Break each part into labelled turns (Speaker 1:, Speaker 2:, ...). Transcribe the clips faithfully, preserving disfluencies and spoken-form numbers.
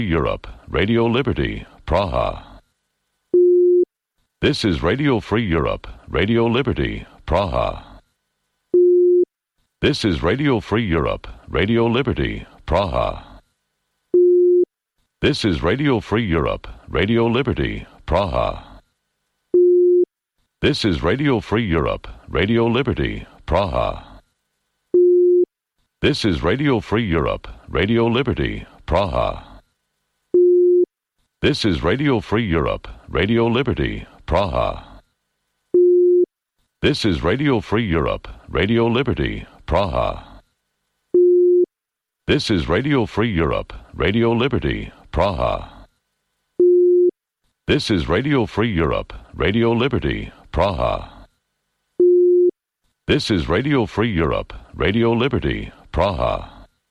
Speaker 1: Europe, Radio Liberty, Praha. This is Radio Free Europe, Radio Liberty, Praha. This is Radio Free Europe, Radio Liberty, Praha. This is Radio Free Europe, Radio Liberty, Praha. This is Radio Free Europe, Radio Liberty, Praha. This is Radio Free Europe, Radio Liberty, Praha. This is Radio Free Europe, Radio Liberty, Praha. This is Radio Free Europe, Radio Liberty, Praha. This is Radio Free Europe, Radio Liberty, Praha. This is Radio Free Europe, Radio Liberty, Praha. This is Radio Free Europe, Radio Liberty, Praha.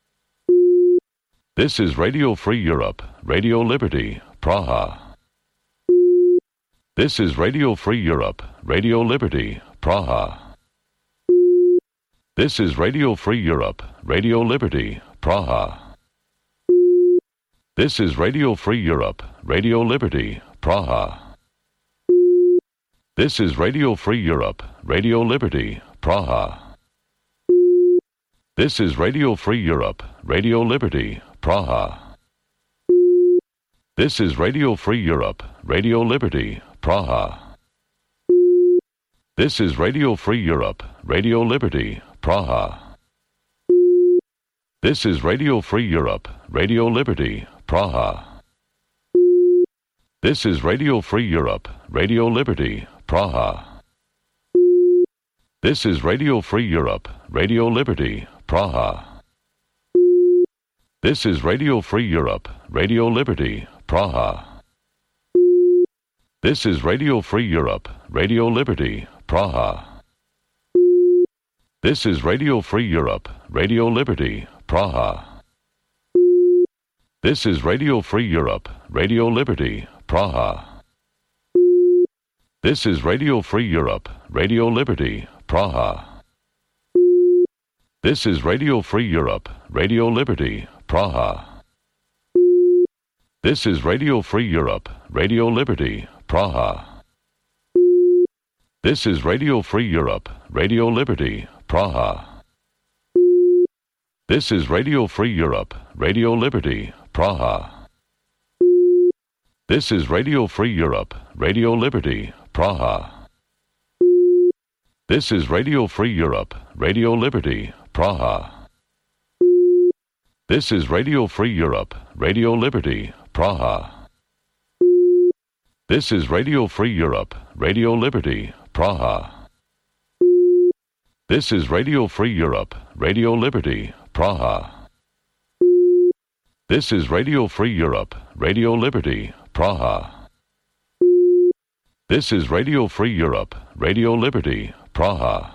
Speaker 1: This is Radio Free Europe, Radio Liberty, Praha. This is Radio Free Europe, Radio Liberty, Praha. This is Radio Free Europe, Radio Liberty, Praha. This is Radio Free Europe, Radio Liberty, Praha. This is Radio Free Europe, Radio Liberty, Praha. This is Radio Free Europe, Radio Liberty, Praha. This is Radio Free Europe, Radio Liberty, Praha. This is Radio Free Europe, Radio Liberty, Praha. This is Radio Free Europe, Radio Liberty, Praha. This is Radio Free Europe, Radio Liberty, Praha. This is Radio Free Europe, Radio Liberty, Praha. This is Radio Free Europe, Radio Liberty, Praha. This is Radio Free Europe, Radio Liberty, Praha. This is Radio Free Europe, Radio Liberty, Praha. This is Radio Free Europe, Radio Liberty, Praha. This is Radio Free Europe, Radio Liberty, Praha. This is Radio Free Europe, Radio Liberty, Praha. This is Radio Free Europe, Radio Liberty, Praha. This is Radio Free Europe, Radio Liberty, Praha. This is Radio Free Europe, Radio Liberty, Praha. This is Radio Free Europe, Radio Liberty, Praha. This is Radio Free Europe, Radio Liberty, Praha. This is Radio Free Europe, Radio Liberty, Praha. This is Radio Free Europe, Radio Liberty, Praha. This is Radio Free Europe, Radio Liberty, Praha. This is Radio Free Europe, Radio Liberty, Praha. This is Radio Free Europe, Radio Liberty, Praha.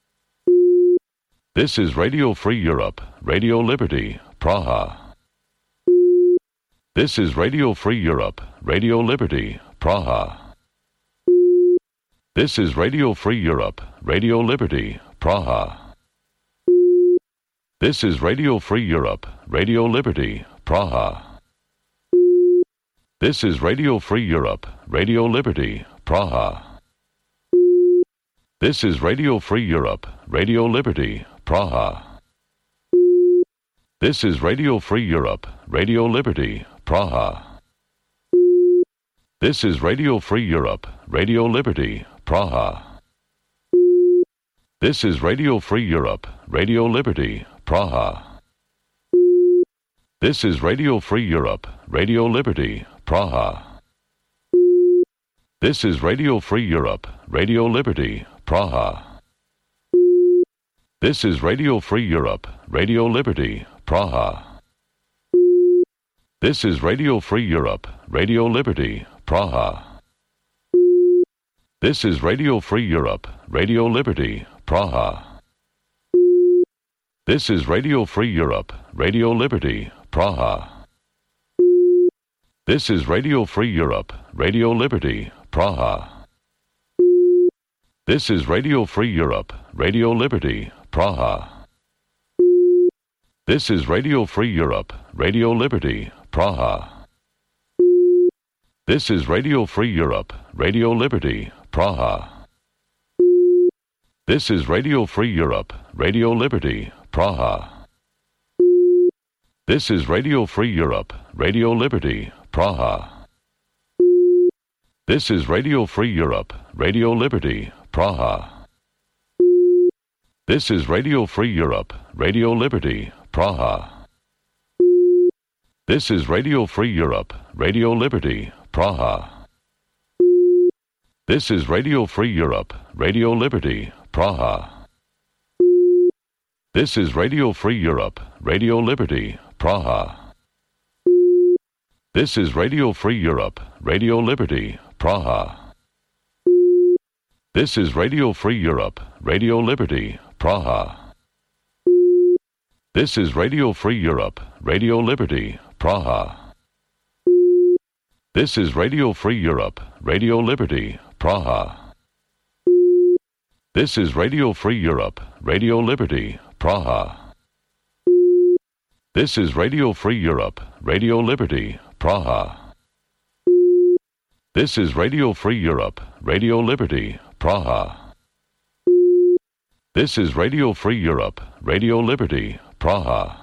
Speaker 1: This is Radio Free Europe, Radio Liberty, Praha. This is Radio Free Europe, Radio Liberty, Praha. This is Radio Free Europe, Radio Liberty, Praha. This is Radio Free Europe, Radio Liberty, Praha. This is Radio Free Europe, Radio Liberty, Praha. This is Radio Free Europe, Radio Liberty, Praha. This is Radio Free Europe, Radio Liberty, Praha. This is Radio Free Europe, Radio Liberty, Praha. This is Radio Free Europe, Radio Liberty, Praha. This is Radio Free Europe, Radio Liberty, Praha. This is Radio Free Europe, Radio Liberty, Praha. This is Radio Free Europe, Radio Liberty, Praha. This is Radio Free Europe, Radio Liberty, Praha. This is Radio Free Europe, Radio Liberty, Praha. This is Radio Free Europe, Radio Liberty, Praha. This is Radio Free Europe, Radio Liberty, Praha. This is Radio Free Europe, Radio Liberty, Praha. This is Radio Free Europe, Radio Liberty, Praha. This is Radio Free Europe, Radio Liberty, Praha. This is Radio Free Europe, Radio Liberty, Praha. This is Radio Free Europe, Radio Liberty, Praha. This is Radio Free Europe, Radio Liberty, Praha. This is Radio Free Europe, Radio Liberty, Praha. This is Radio Free Europe, Radio Liberty, Praha. This is Radio Free Europe, Radio Liberty, Praha. This is Radio Free Europe, Radio Liberty, Praha. This is Radio Free Europe, Radio Liberty, Praha. This is Radio Free Europe, Radio Liberty, Praha. This is Radio Free Europe, Radio Liberty, Praha. This is Radio Free Europe, Radio Liberty, Praha. This is Radio Free Europe, Radio Liberty, Praha. This is Radio Free Europe, Radio Liberty, Praha. This is Radio Free Europe, Radio Liberty, Praha. This is Radio Free Europe, Radio Liberty, Praha.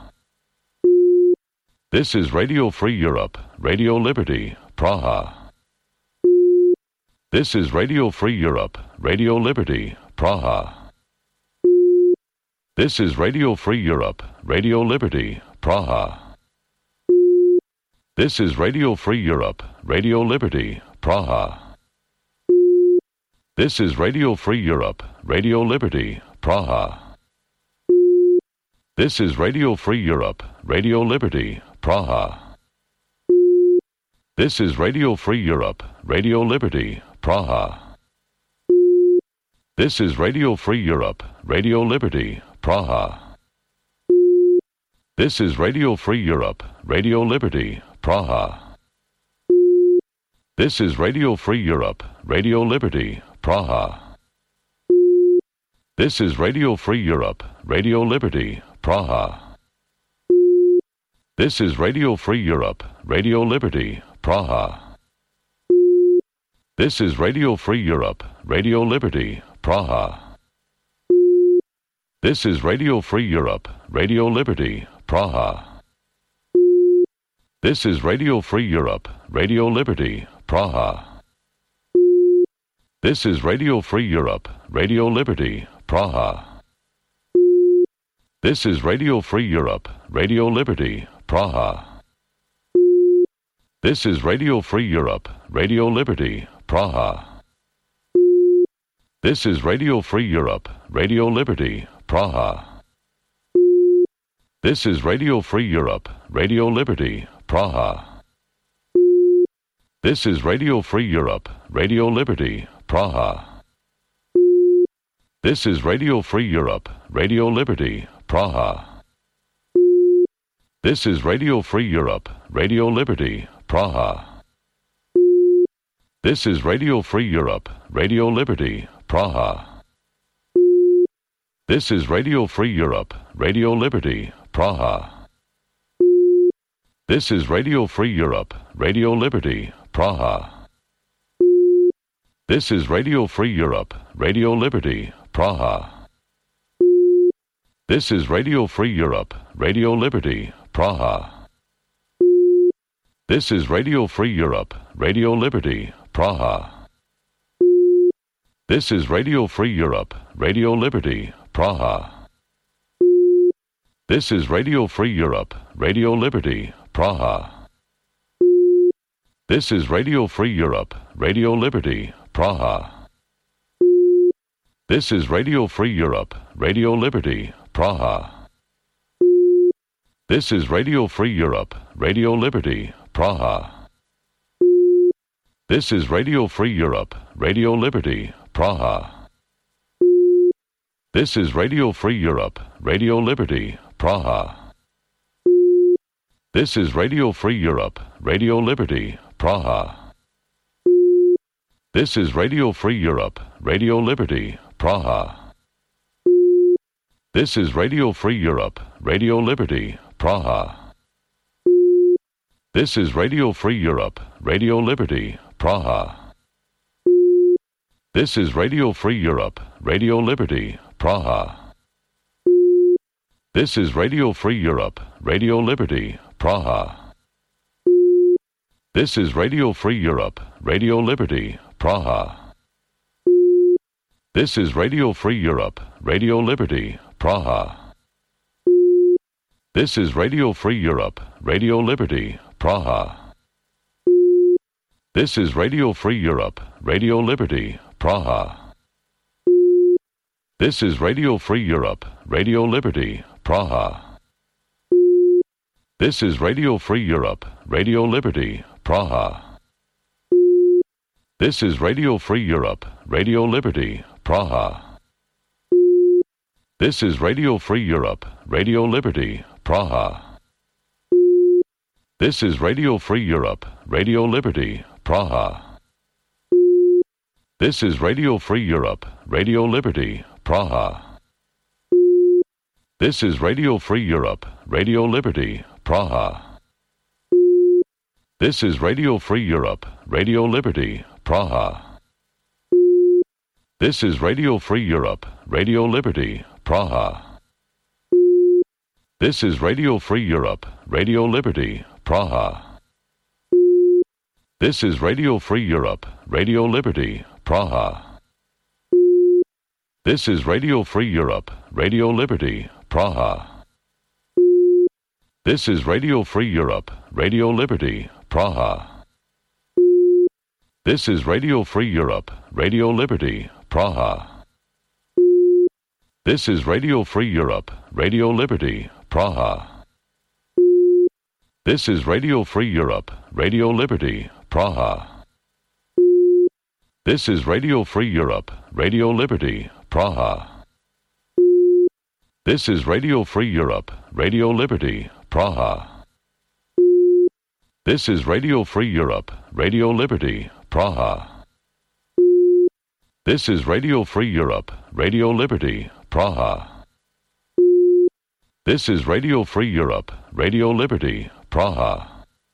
Speaker 1: This is Radio Free Europe, Radio Liberty, Praha. This is Radio Free Europe, Radio Liberty, Praha. This is Radio Free Europe, Radio Liberty, Praha. This is Radio Free Europe, Radio Liberty, Praha. This is Radio Free Europe, Radio Liberty, Praha. This is Radio Free Europe, Radio Liberty, Praha. This is Radio Free Europe, Radio Liberty, Praha. This is Radio Free Europe, Radio Liberty, Praha. This is Radio Free Europe, Radio Liberty, Praha. This is Radio Free Europe, Radio Liberty, Praha. This is Radio Free Europe, Radio Liberty, Praha. This is Radio Free Europe, Radio Liberty, Praha. This is Radio Free Europe, Radio Liberty, Praha. This is Radio Free Europe, Radio Liberty, Praha. This is Radio Free Europe, Radio Liberty, Praha. This is Radio Free Europe, Radio Liberty, Praha. This is Radio Free Europe, Radio Liberty, Praha. This is Radio Free Europe, Radio Liberty, Praha. This is Radio Free Europe, Radio Liberty, Praha. This is Radio Free Europe, Radio Liberty, Praha. This is Radio Free Europe, Radio Liberty, Praha. This is Radio Free Europe, Radio Liberty, Praha. This is Radio Free Europe, Radio Liberty, Praha. This is Radio Free Europe, Radio Liberty, Praha. This is Radio Free Europe, Radio Liberty, Praha. This is Radio Free Europe, Radio Liberty, Praha. This is Radio Free Europe, Radio Liberty, Praha. This is Radio Free Europe, Radio Liberty, Praha. This is Radio Free Europe, Radio Liberty, Praha. This is Radio Free Europe, Radio Liberty, Praha. This is Radio Free Europe, Radio Liberty, Praha. This is Radio Free Europe, Radio Liberty, Praha. This is Radio Free Europe, Radio Liberty, Praha. This is Radio Free Europe, Radio Liberty, Praha. This is Radio Free Europe, Radio Liberty, Praha. This is Radio Free Europe, Radio Liberty, Praha. This is Radio Free Europe, Radio Liberty, Praha. This is Radio Free Europe, Radio Liberty, Praha. This is Radio Free Europe, Radio Liberty, Praha. This is Radio Free Europe, Radio Liberty, Praha. This is Radio Free Europe, Radio Liberty, Praha. This is Radio Free Europe, Radio Liberty, Praha. This is Radio Free Europe, Radio Liberty, Praha. This is Radio Free Europe, Radio Liberty, Praha. This is Radio Free Europe, Radio Liberty, Praha. This is Radio Free Europe, Radio Liberty, Praha. This is Radio Free Europe, Radio Liberty, Praha. This is Radio Free Europe, Radio Liberty, Praha. This is Radio Free Europe, Radio Liberty, Praha. This is Radio Free Europe, Radio Liberty, Praha. This is Radio Free Europe, Radio Liberty, Praha. This is Radio Free Europe, Radio Liberty, Praha. This is Radio Free Europe, Radio Liberty, Praha. This is Radio Free Europe, Radio Liberty, Praha. This is Radio Free Europe, Radio Liberty, Praha. This is Radio Free Europe, Radio Liberty, Praha. This is Radio Free Europe, Radio Liberty, Praha. This is Radio Free Europe, Radio Liberty, Praha. This is Radio Free Europe, Radio Liberty, Praha. This is Radio Free Europe, Radio Liberty, Praha. This is Radio Free Europe, Radio Liberty, Praha. This is Radio Free Europe, Radio Liberty, Praha. This is Radio Free Europe, Radio Liberty, Praha. This is Radio Free Europe, Radio Liberty, Praha. This is Radio Free Europe, Radio Liberty, Praha. This is Radio Free Europe, Radio Liberty, Praha. This is Radio Free Europe, Radio Liberty, Praha.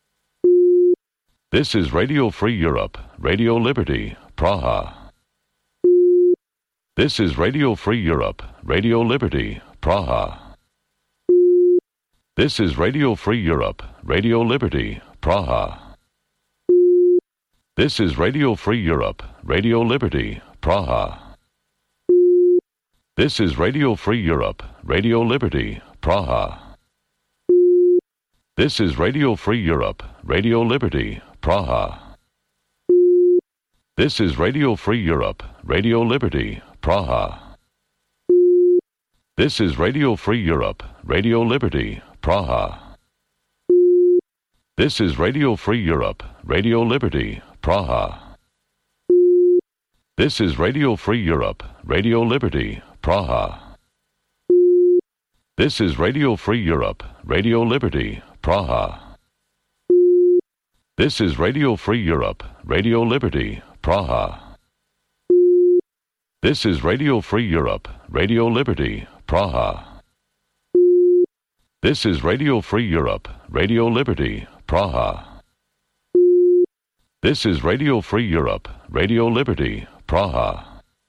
Speaker 1: This is Radio Free Europe, Radio Liberty, Praha. This is Radio Free Europe, Radio Liberty, Praha. This is Radio Free Europe, Radio Liberty, Praha. This is Radio Free Europe, Radio Liberty, Praha. This is Radio Free Europe, Radio Liberty, Praha. This is Radio Free Europe, Radio Liberty, Praha. This is Radio Free Europe, Radio Liberty, Praha. This is Radio Free Europe, Radio Liberty, Praha. This is Radio Free Europe, Radio Liberty, Praha. This is Radio Free Europe, Radio Liberty, Praha. This is Radio Free Europe, Radio Liberty, Praha. This is Radio Free Europe, Radio Liberty, Praha. This is Radio Free Europe, Radio Liberty, Praha. This is Radio Free Europe, Radio Liberty, Praha. This is Radio Free Europe, Radio Liberty, Praha.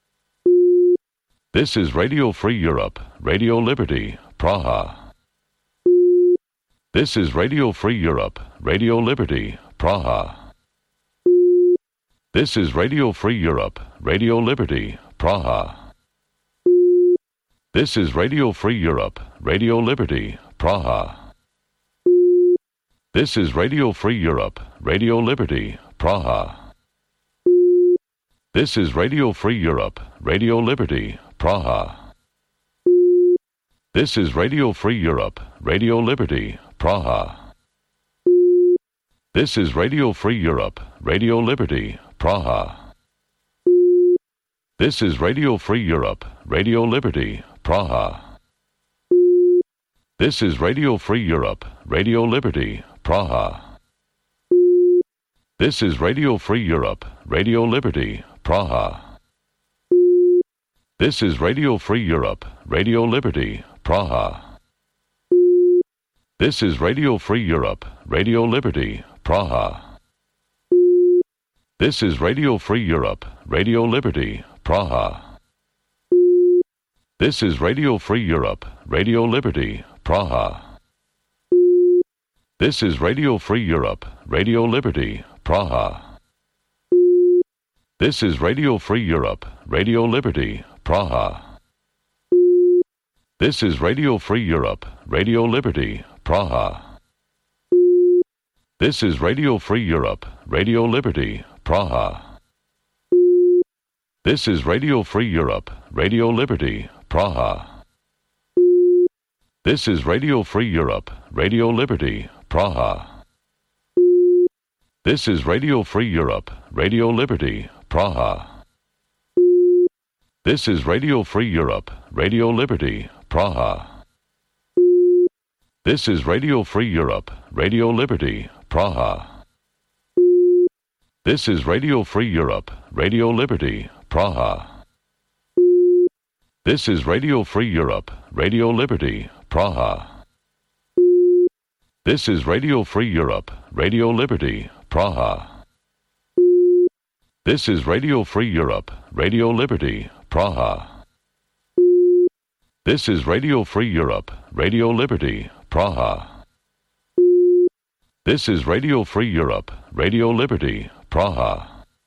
Speaker 1: This is Radio Free Europe, Radio Liberty, Praha. This is Radio Free Europe, Radio Liberty, Praha. This is Radio Free Europe, Radio Liberty, Praha. This is Radio Free Europe, Radio Liberty, Praha. This is Radio Free Europe, Radio Liberty, Praha. This is Radio Free Europe, Radio Liberty, Praha. This is Radio Free Europe, Radio Liberty, Praha. This is Radio Free Europe, Radio Liberty, Praha. This is Radio Free Europe, Radio Liberty, Praha. This is Radio Free Europe, Radio Liberty, Praha. This is Radio Free Europe, Radio Liberty, Praha. This is Radio Free Europe, Radio Liberty, Praha. This is Radio Free Europe, Radio Liberty, Praha. This is Radio Free Europe, Radio Liberty, Praha. This is Radio Free Europe, Radio Liberty, Praha. This is Radio Free Europe, Radio Liberty, Praha. This is Radio Free Europe, Radio Liberty, Praha. This is Radio Free Europe, Radio Liberty, Praha. This is Radio Free Europe, Radio Liberty, Praha. This is Radio Free Europe, Radio Liberty, Praha. This is Radio Free Europe, Radio Liberty, Praha. This is Radio Free Europe, Radio Liberty, Praha. This is Radio Free Europe, Radio Liberty, Praha. This is Radio Free Europe, Radio Liberty, Praha. This is Radio Free Europe, Radio Liberty, Praha. This is Radio Free Europe, Radio Liberty, Praha. This is Radio Free Europe, Radio Liberty, Praha. This is Radio Free Europe, Radio Liberty, Praha. This is Radio Free Europe, Radio Liberty, Praha. This is Radio Free Europe, Radio Liberty, Praha.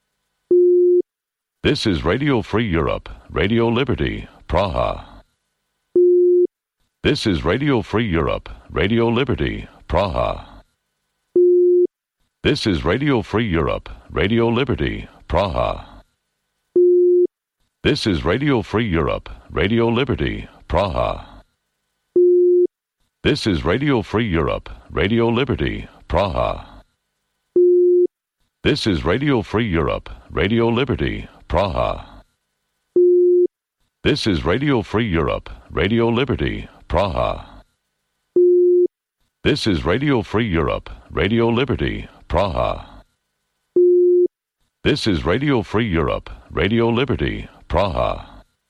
Speaker 1: This is Radio Free Europe, Radio Liberty, Praha. This is Radio Free Europe, Radio Liberty, Praha. This is Radio Free Europe, Radio Liberty, Praha. This is Radio Free Europe, Radio Liberty, Praha. This is Radio Free Europe, Radio Liberty, Praha. This is Radio Free Europe, Radio Liberty, Praha. This is Radio Free Europe, Radio Liberty, Praha. This is Radio Free Europe, Radio Liberty, Praha. This is Radio Free Europe, Radio Liberty, Praha.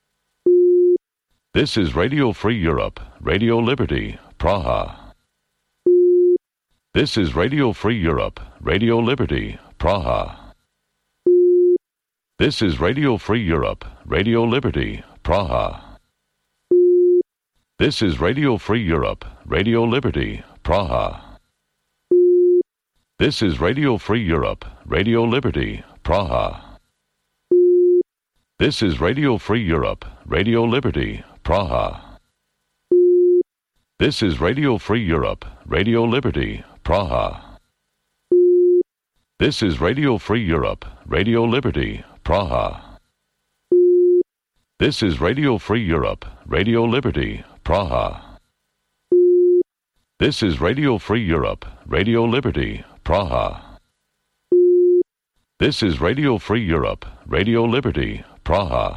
Speaker 1: This is Radio Free Europe, Radio Liberty, Praha. This is Radio Free Europe, Radio Liberty, Praha. This is Radio Free Europe, Radio Liberty, Praha. This is Radio Free Europe, Radio Liberty, Praha. This is Radio Free Europe, Radio Liberty, Praha. This is Radio Free Europe, Radio Liberty, Praha. This is Radio Free Europe, Radio Liberty, Praha. This is Radio Free Europe, Radio Liberty, Praha. This is Radio Free Europe, Radio Liberty, Praha. This is Radio Free Europe, Radio Liberty, Praha. This is Radio Free Europe, Radio Liberty, Praha.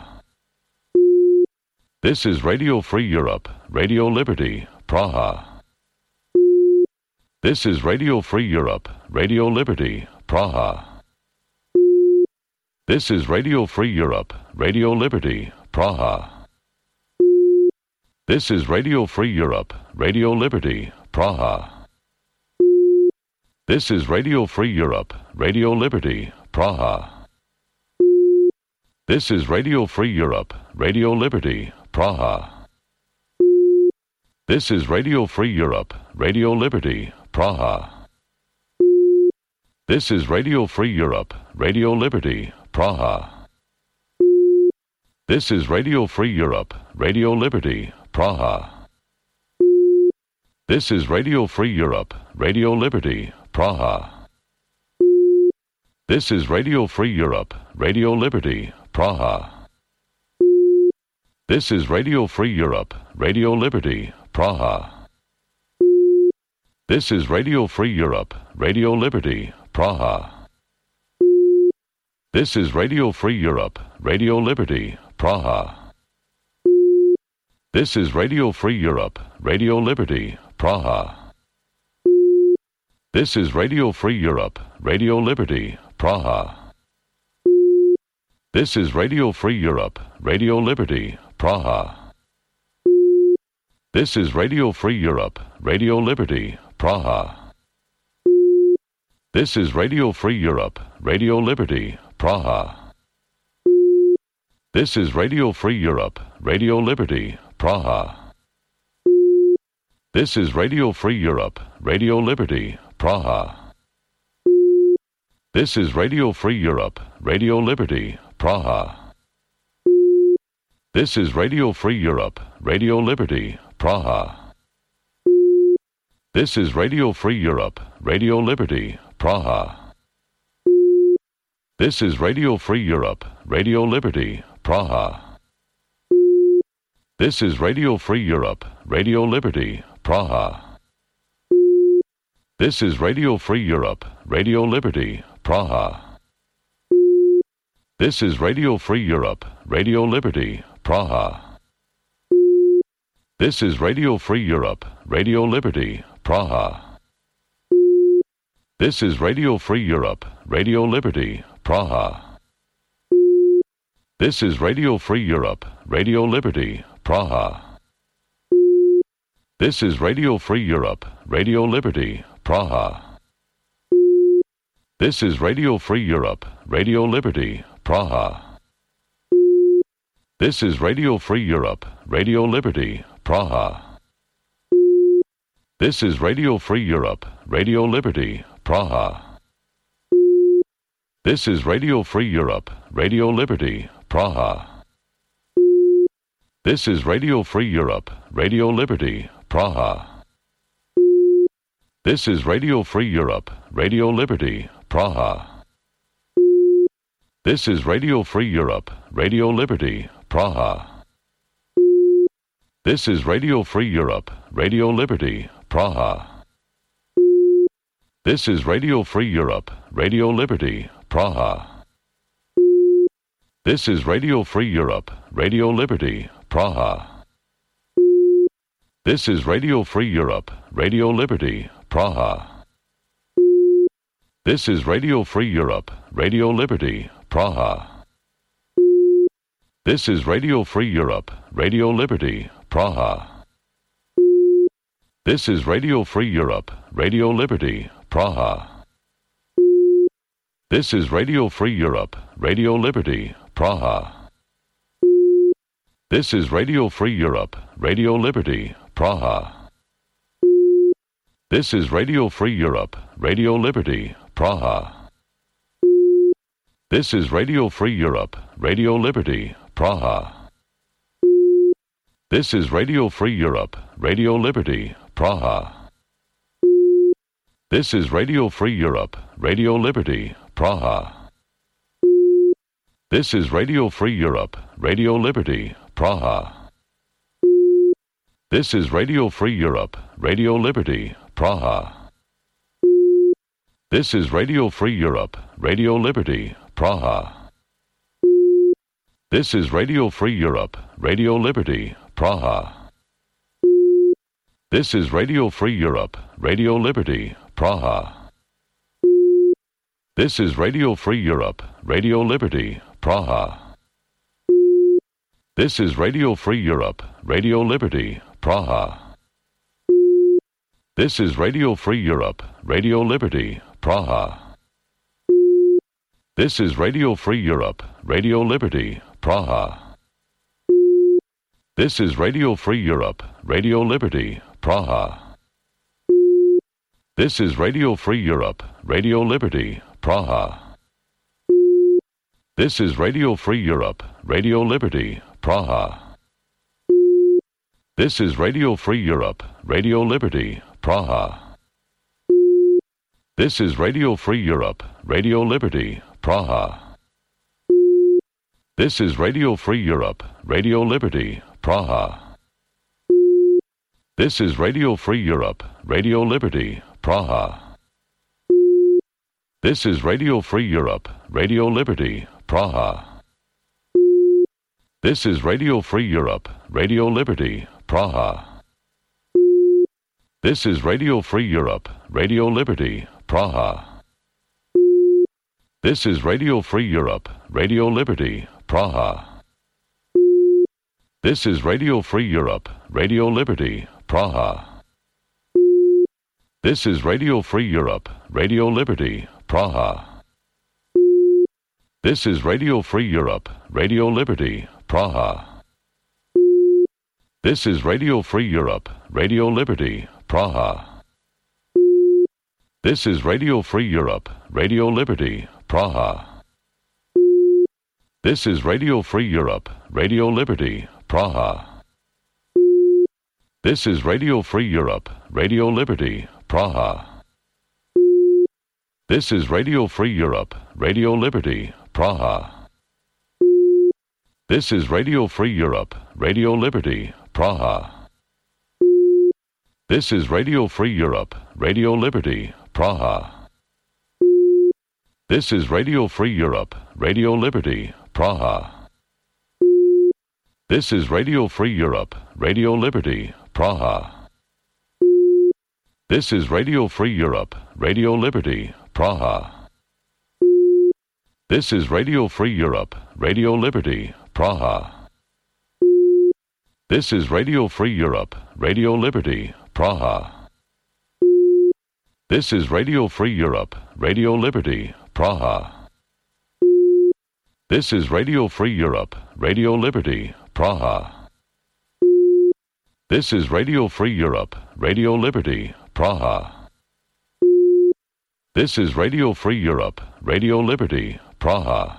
Speaker 1: This is Radio Free Europe, Radio Liberty, Praha. This is Radio Free Europe, Radio Liberty, Praha. This is Radio Free Europe, Radio Liberty, Praha. This is Radio Free Europe, Radio Liberty, Praha. This is Radio Free Europe, Radio Liberty, Praha. This is Radio Free Europe, Radio Liberty, Praha. This is Radio Free Europe, Radio Liberty, Praha. This is Radio Free Europe, Radio Liberty, Praha. This is Radio Free Europe, Radio Liberty, Praha. This is Radio Free Europe, Radio Liberty, Praha. This is Radio Free Europe, Radio Liberty, Praha. This is Radio Free Europe, Radio Liberty, Praha. This is Radio Free Europe, Radio Liberty, Praha. This is Radio Free Europe, Radio Liberty, Praha. This is Radio Free Europe, Radio Liberty, Praha. This is Radio Free Europe, Radio Liberty, Praha. This is Radio Free Europe, Radio Liberty, Praha. This is Radio Free Europe, Radio Liberty, Praha. This is Radio Free Europe, Radio Liberty, Praha. This is Radio Free Europe, Radio Liberty, Praha. This is Radio Free Europe, Radio Liberty, Praha. This is Radio Free Europe, Radio Liberty, Praha. This is Radio Free Europe, Radio Liberty, Praha. This is Radio Free Europe, Radio Liberty, Praha. This is Radio Free Europe, Radio Liberty, Praha. This is Radio Free Europe, Radio Liberty, Praha. This is Radio Free Europe, Radio Liberty, Praha. This is Radio Free Europe, Radio Liberty, Praha. This is Radio Free Europe, Radio Liberty, Praha. This is Radio Free Europe, Radio Liberty, Praha. This is Radio Free Europe, Radio Liberty, Praha. This is Radio Free Europe, Radio Liberty, Praha. This is Radio Free Europe, Radio Liberty, Praha. This is Radio Free Europe, Radio Liberty, Praha. This is Radio Free Europe, Radio Liberty, Praha. This is Radio Free Europe, Radio Liberty, Praha. This is Radio Free Europe, Radio Liberty, Praha. This is Radio Free Europe, Radio Liberty, Praha. This is Radio Free Europe, Radio Liberty, Praha. This is Radio Free Europe, Radio Liberty, Praha. This is Radio Free Europe, Radio Liberty, Praha. This is Radio Free Europe, Radio Liberty, Praha. This is Radio Free Europe, Radio Liberty, Praha. This is Radio Free Europe, Radio Liberty, Praha. This is Radio Free Europe, Radio Liberty, Praha. This is Radio Free Europe, Radio Liberty, Praha. This is Radio Free Europe, Radio Liberty, Praha. This is Radio Free Europe, Radio Liberty, Praha. This is Radio Free Europe, Radio Liberty, Praha. This is Radio Free Europe, Radio Liberty, Praha. This is Radio Free Europe, Radio Liberty, Praha. This is Radio Free Europe, Radio Liberty, Praha. This is Radio Free Europe, Radio Liberty, Praha. This is Radio Free Europe, Radio Liberty, Praha. This is Radio Free Europe, Radio Liberty, Praha. This is Radio Free Europe, Radio Liberty, Praha. This is Radio Free Europe, Radio Liberty, Praha. This is Radio Free Europe, Radio Liberty, Praha. This is Radio Free Europe, Radio Liberty, Praha. This is Radio Free Europe, Radio Liberty, Praha. This is Radio Free Europe, Radio Liberty, Praha. This is Radio Free Europe, Radio Liberty, Praha. This is Radio Free Europe, Radio Liberty, Praha. This is Radio Free Europe, Radio Liberty, Praha. This is Radio Free Europe, Radio Liberty, Praha. This is Radio Free Europe, Radio Liberty, Praha. This is Radio Free Europe, Radio Liberty, Praha. This is Radio Free Europe, Radio Liberty, Praha. This is Radio Free Europe, Radio Liberty, Praha. This is Radio Free Europe, Radio Liberty, Praha. This is Radio Free Europe, Radio Liberty, Praha. This is Radio Free Europe, Radio Liberty, Praha. This is Radio Free Europe, Radio Liberty, Praha. This is Radio Free Europe, Radio Liberty, Praha. This is Radio Free Europe, Radio Liberty, Praha. This is Radio Free Europe, Radio Liberty, Praha. This is Radio Free Europe, Radio Liberty, Praha. This is Radio Free Europe, Radio Liberty, Praha. This is Radio Free Europe, Radio Liberty, Praha. This is Radio Free Europe, Radio Liberty, Praha. This is Radio Free Europe, Radio Liberty, Praha. This is Radio Free Europe, Radio Liberty, Praha. This is Radio Free Europe, Radio Liberty, Praha. This is Radio Free Europe, Radio Liberty, Praha. This is Radio Free Europe, Radio Liberty, Praha. This is Radio Free Europe, Radio Liberty, Praha. This is Radio Free Europe, Radio Liberty, Praha. This is Radio Free Europe, Radio Liberty, Praha. This is Radio Free Europe, Radio Liberty, Praha. This is Radio Free Europe, Radio Liberty, Praha. This is Radio Free Europe, Radio Liberty, Praha.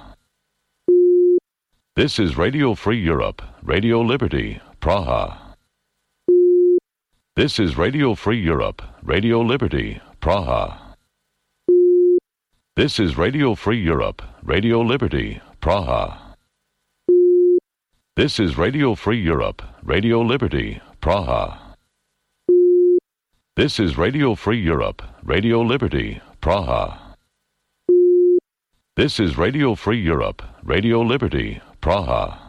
Speaker 1: This is Radio Free Europe, Radio Liberty, Praha. This is Radio Free Europe, Radio Liberty, Praha. This is Radio Free Europe, Radio Liberty, Praha. This is Radio Free Europe, Radio Liberty, Praha. This is Radio Free Europe, Radio Liberty, Praha. This is Radio Free Europe, Radio Liberty, Praha.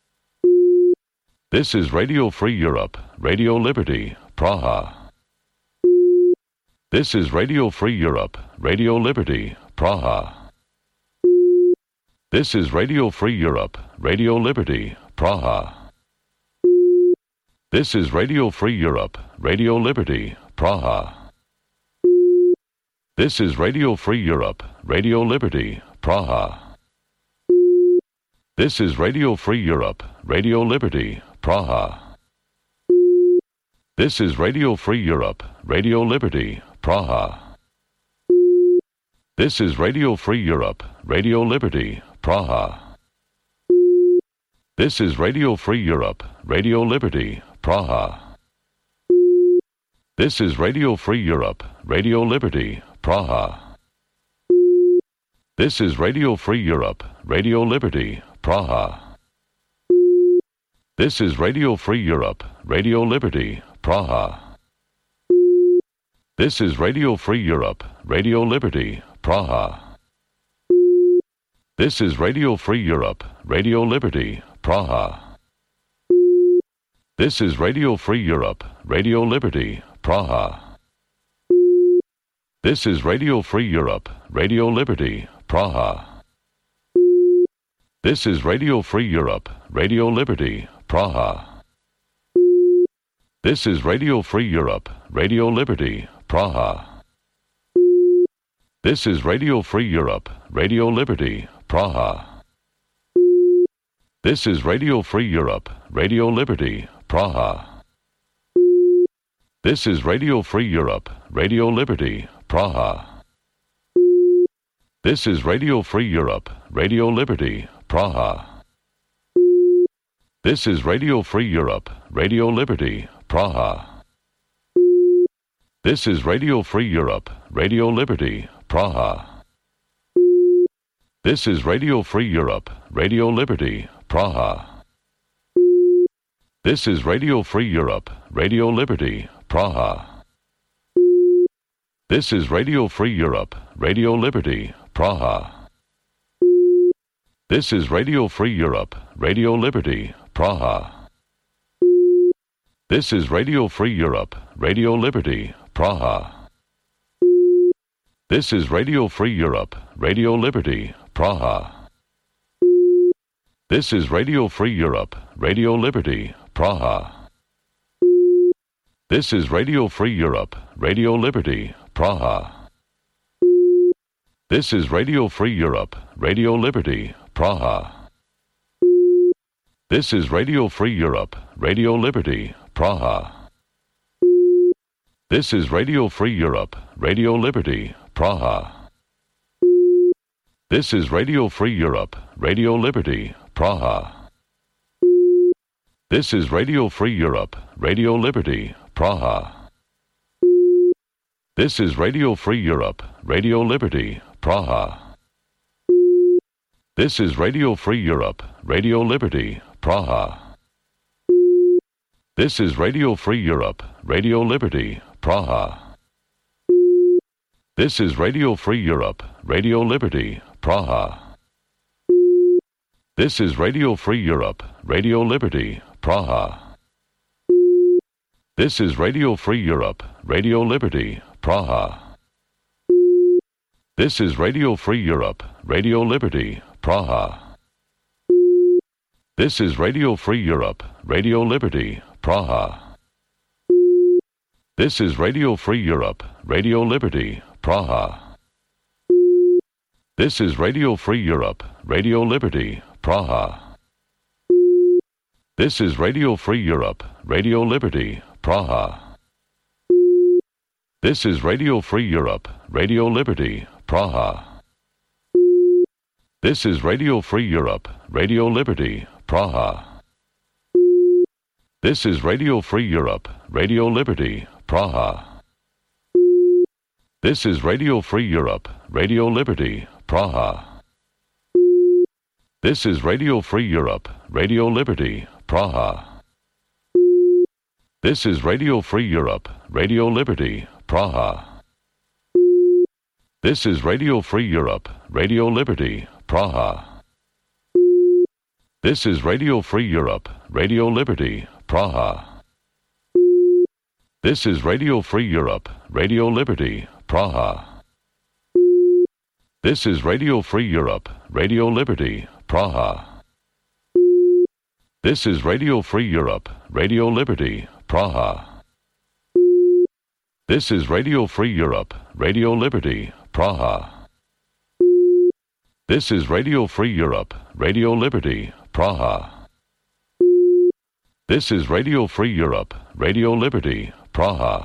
Speaker 1: This is Radio Free Europe, Radio Liberty, Praha. This is Radio Free Europe, Radio Liberty, Praha. This is Radio Free Europe, Radio Liberty, Praha. This is Radio Free Europe, Radio Liberty, Praha. This is Radio Free Europe, Radio Liberty, Praha. This is Radio Free Europe, Radio Liberty, Praha. This is Radio Free Europe, Radio Liberty, Praha. This is Radio Free Europe, Radio Liberty, Praha. This is Radio Free Europe, Radio Liberty, Praha. This is Radio Free Europe, Radio Liberty, Praha. This is Radio Free Europe, Radio Liberty, Praha. This is Radio Free Europe, Radio Liberty, Praha. This is Radio Free Europe, Radio Liberty, Praha. This is Radio Free Europe, Radio Liberty, Praha. This is Radio Free Europe, Radio Liberty, Praha. This is Radio Free Europe, Radio Liberty, Praha. This is Radio Free Europe, Radio Liberty, Praha. This is Radio Free Europe, Radio Liberty, Praha. This is Radio Free Europe, Radio Liberty, Praha. This is Radio Free Europe, Radio Liberty, Praha. This is Radio Free Europe, Radio Liberty, Praha. This is Radio Free Europe, Radio Liberty, Praha. This is Radio Free Europe, Radio Liberty, Praha. This is Radio Free Europe, Radio Liberty, Praha. This is Radio Free Europe, Radio Liberty, Praha. This is Radio Free Europe, Radio Liberty, Praha. This is Radio Free Europe, Radio Liberty, Praha. This is Radio Free Europe, Radio Liberty, Praha. This is Radio Free Europe, Radio Liberty, Praha. This is Radio Free Europe, Radio Liberty, Praha. This is Radio Free Europe, Radio Liberty, Praha. This is Radio Free Europe, Radio Liberty, Praha. This is Radio Free Europe, Radio Liberty, Praha. This is Radio Free Europe, Radio Liberty, Praha. This is Radio Free Europe, Radio Liberty, Praha. This is Radio Free Europe, Radio Liberty, Praha. This is Radio Free Europe, Radio Liberty, Praha. This is Radio Free Europe, Radio Liberty, Praha. This is Radio Free Europe, Radio Liberty, Praha. This is Radio Free Europe, Radio Liberty, Praha. This is Radio Free Europe, Radio Liberty, Praha. This is Radio Free Europe, Radio Liberty, Praha. This is Radio Free Europe, Radio Liberty, Praha. This is Radio Free Europe, Radio Liberty, Praha. This is Radio Free Europe, Radio Liberty, Praha. This is Radio Free Europe, Radio Liberty, Praha. This is Radio Free Europe, Radio Liberty, Praha. This is Radio Free Europe, Radio Liberty, Praha. This is Radio Free Europe, Radio Liberty, Praha. This is Radio Free Europe, Radio Liberty, Praha. This is Radio Free Europe, Radio Liberty, Praha. This is Radio Free Europe, Radio Liberty, Praha. This is Radio Free Europe, Radio Liberty, Praha. This is Radio Free Europe, Radio Liberty, Praha. This is Radio Free Europe, Radio Liberty, Praha. This is Radio Free Europe, Radio Liberty, Praha. This is Radio Free Europe, Radio Liberty, Praha. This is Radio Free Europe, Radio Liberty, Praha. This is Radio Free Europe, Radio Liberty, Praha. This is Radio Free Europe, Radio Liberty, Praha. This is Radio Free Europe, Radio Liberty, Praha. This is Radio Free Europe, Radio Liberty, Praha.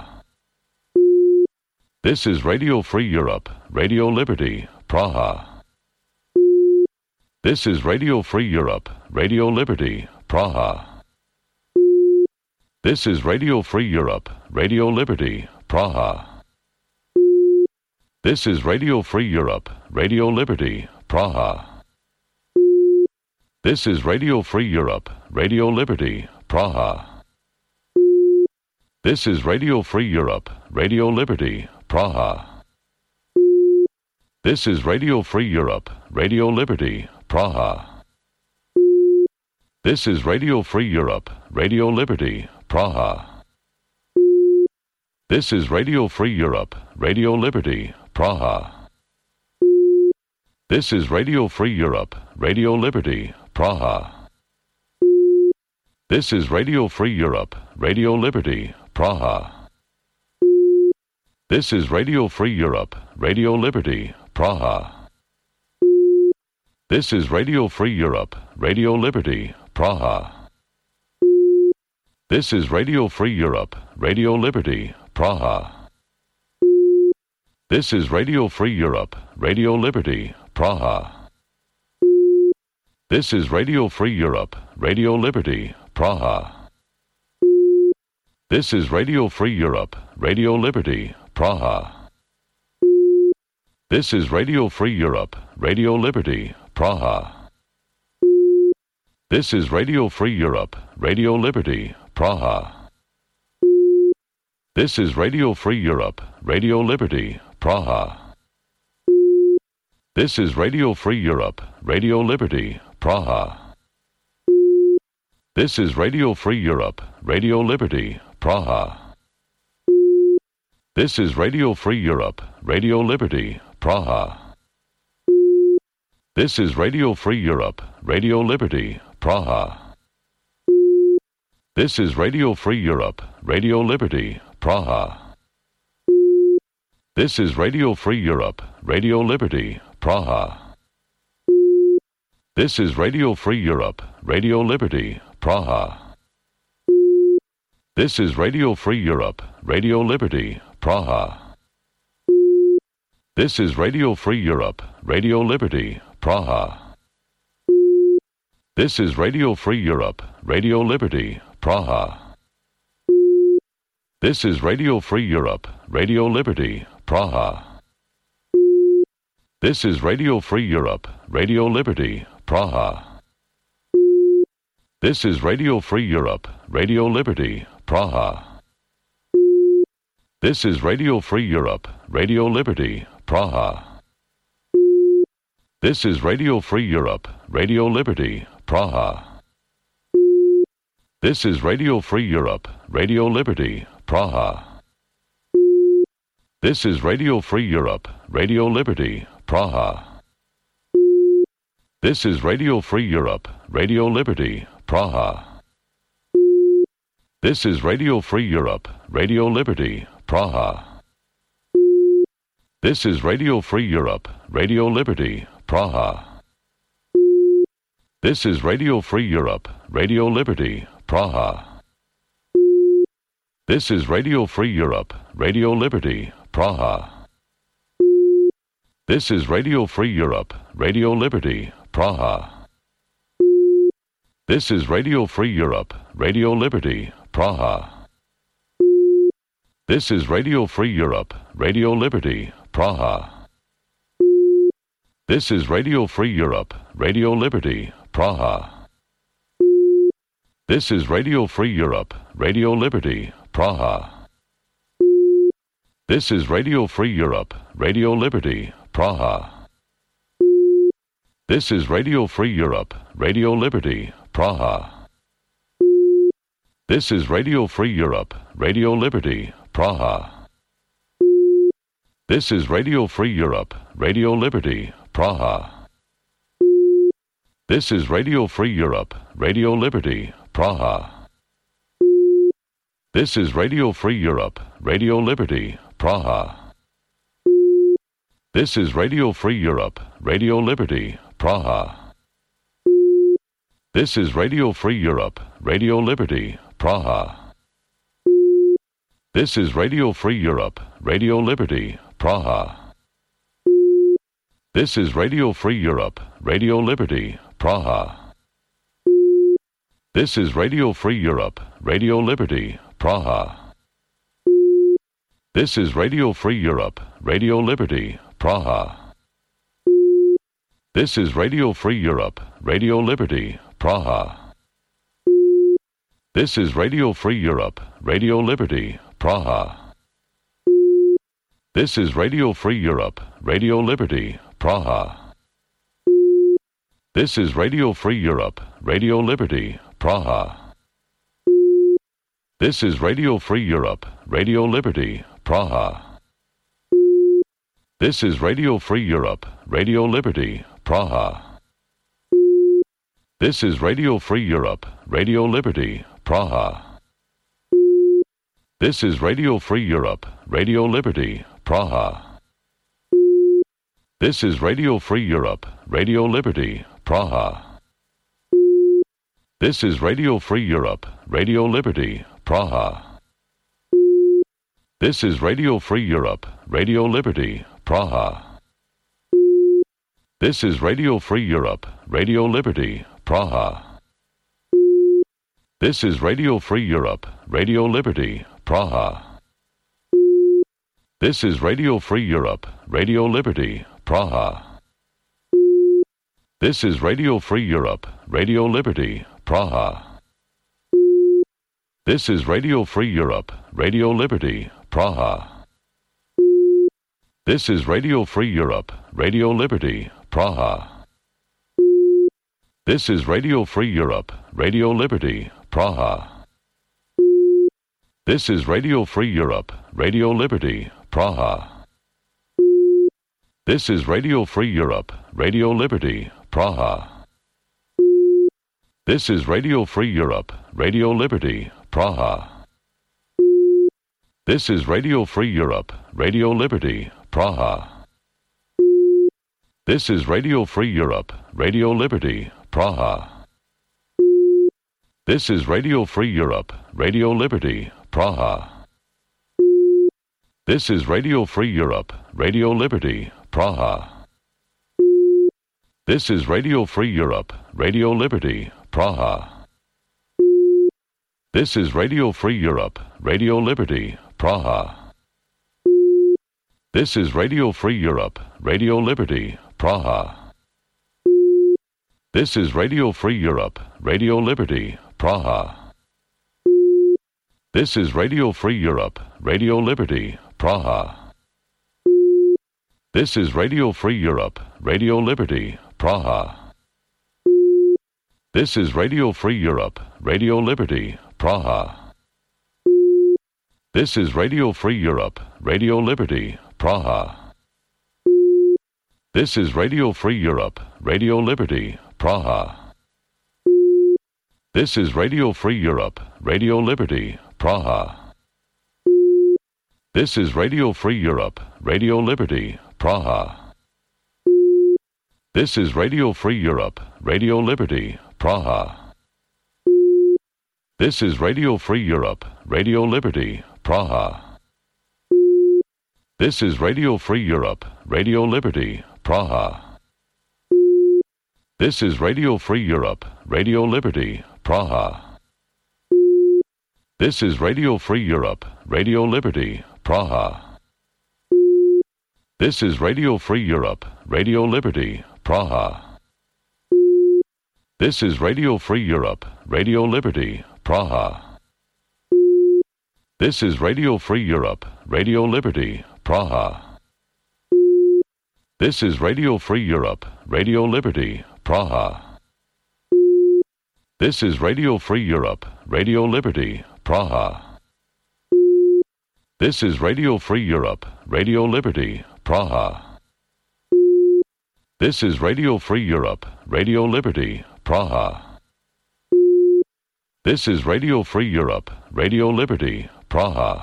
Speaker 1: This is Radio Free Europe, Radio Liberty, Praha. This is Radio Free Europe, Radio Liberty, Praha. This is Radio Free Europe, Radio Liberty, Praha. This is Radio Free Europe, Radio Liberty, Praha. This is Radio Free Europe, Radio Liberty, Praha. This is Radio Free Europe, Radio Liberty, Praha. This is Radio Free Europe, Radio Liberty, Praha. This is Radio Free Europe, Radio Liberty, Praha. This is Radio Free Europe, Radio Liberty, Praha. This is Radio Free Europe, Radio Liberty, Praha. This is Radio Free Europe, Radio Liberty, Praha. This is Radio Free Europe, Radio Liberty, Praha. This is Radio Free Europe, Radio Liberty, Praha. This is Radio Free Europe, Radio Liberty, Praha. This is Radio Free Europe, Radio Liberty, Praha. This is Radio Free Europe, Radio Liberty, Praha. This is Radio Free Europe, Radio Liberty, Praha. This is Radio Free Europe, Radio Liberty, Praha. This is Radio Free Europe, Radio Liberty, Praha. This is Radio Free Europe, Radio Liberty, Praha. This is Radio Free Europe, Radio Liberty, Praha. This is Radio Free Europe, Radio Liberty, Praha. This is Radio Free Europe, Radio Liberty, Praha. This is Radio Free Europe, Radio Liberty, Praha. This is Radio Free Europe, Radio Liberty, Praha. This is Radio Free Europe, Radio Liberty, Praha. This is Radio Free Europe, Radio Liberty, Praha. This is Radio Free Europe, Radio Liberty, Praha. This is Radio Free Europe, Radio Liberty, Praha. This is Radio Free Europe, Radio Liberty, Praha. This is Radio Free Europe, Radio Liberty, Praha. This is Radio Free Europe, Radio Liberty, Praha. This is Radio Free Europe, Radio Liberty, Praha. This is Radio Free Europe, Radio Liberty, Praha. This is Radio Free Europe, Radio Liberty, Praha. This is Radio Free Europe, Radio Liberty, Praha. This is Radio Free Europe, Radio Liberty, Praha. This is Radio Free Europe, Radio Liberty, Praha. This is Radio Free Europe, Radio Liberty, Praha. This is Radio Free Europe, Radio Liberty, Praha. This is Radio Free Europe, Radio Liberty, Praha. This is Radio Free Europe, Radio Liberty, Praha. This is Radio Free Europe, Radio Liberty, Praha. This is Radio Free Europe, Radio Liberty, Praha. This is Radio Free Europe, Radio Liberty, Praha. This is Radio Free Europe, Radio Liberty, Praha. This is Radio Free Europe, Radio Liberty, Praha. This is Radio Free Europe, Radio Liberty, Praha. This is Radio Free Europe, Radio Liberty, Praha. This is Radio Free Europe, Radio Liberty, Praha. This is Radio Free Europe, Radio Liberty, Praha. This is Radio Free Europe, Radio Liberty, Praha. This is Radio Free Europe, Radio Liberty, Praha. This is Radio Free Europe, Radio Liberty, Praha. This is Radio Free Europe, Radio Liberty, Praha. This is Radio Free Europe, Radio Liberty, Praha. This is Radio Free Europe, Radio Liberty, Praha. This is Radio Free Europe, Radio Liberty, Praha. This is Radio Free Europe, Radio Liberty, Praha. This is Radio Free Europe, Radio Liberty, Praha. This is Radio Free Europe, Radio Liberty, Praha. This is Radio Free Europe, Radio Liberty, Praha. This is Radio Free Europe, Radio Liberty, Praha. This is Radio Free Europe, Radio Liberty, Praha. This is Radio Free Europe, Radio Liberty, Praha. This is Radio Free Europe, Radio Liberty, Praha. This is Radio Free Europe, Radio Liberty, Praha. This is Radio Free Europe, Radio Liberty, Praha. This is Radio Free Europe, Radio Liberty, Praha. This is Radio Free Europe, Radio Liberty, Praha. This is Radio Free Europe, Radio Liberty, Praha. This is Radio Free Europe, Radio Liberty, Praha. This is Radio Free Europe, Radio Liberty, Praha. This is Radio Free Europe, Radio Liberty, Praha. This is Radio Free Europe, Radio Liberty, Praha. This is Radio Free Europe, Radio Liberty, Praha. This is Radio Free Europe, Radio Liberty, Praha. This is Radio Free Europe, Radio Liberty, Praha. This is Radio Free Europe, Radio Liberty, Praha. This is Radio Free Europe, Radio Liberty, Praha. This is Radio Free Europe, Radio Liberty, Praha. This is Radio Free Europe, Radio Liberty, Praha. This is Radio Free Europe, Radio Liberty, Praha. This is Radio Free Europe, Radio Liberty, Praha. This is Radio Free Europe, Radio Liberty, Praha. This is Radio Free Europe, Radio Liberty, Praha. This is Radio Free Europe, Radio Liberty, Praha. This is Radio Free Europe, Radio Liberty, Praha. This is Radio Free Europe, Radio Liberty, Praha. This is Radio Free Europe, Radio Liberty, Praha. This is Radio Free Europe, Radio Liberty, Praha. This is Radio Free Europe, Radio Liberty, Praha. This is Radio Free Europe, Radio Liberty, Praha. This is Radio Free Europe, Radio Liberty, Praha. This is Radio Free Europe, Radio Liberty, Praha. This is Radio Free Europe, Radio Liberty, Praha. This is Radio Free Europe, Radio Liberty, Praha. This is Radio Free Europe, Radio Liberty, Praha. This is Radio Free Europe, Radio Liberty, Praha. This is Radio Free Europe, Radio Liberty, Praha. This is Radio Free Europe, Radio Liberty, Praha. This is Radio Free Europe, Radio Liberty, Praha. This is Radio Free Europe, Radio Liberty, Praha. This is Radio Free Europe, Radio Liberty, Praha. This is Radio Free Europe, Radio Liberty, Praha. This is Radio Free Europe, Radio Liberty, Praha. This is Radio Free Europe, Radio Liberty, Praha. This is Radio Free Europe, Radio Liberty, Praha.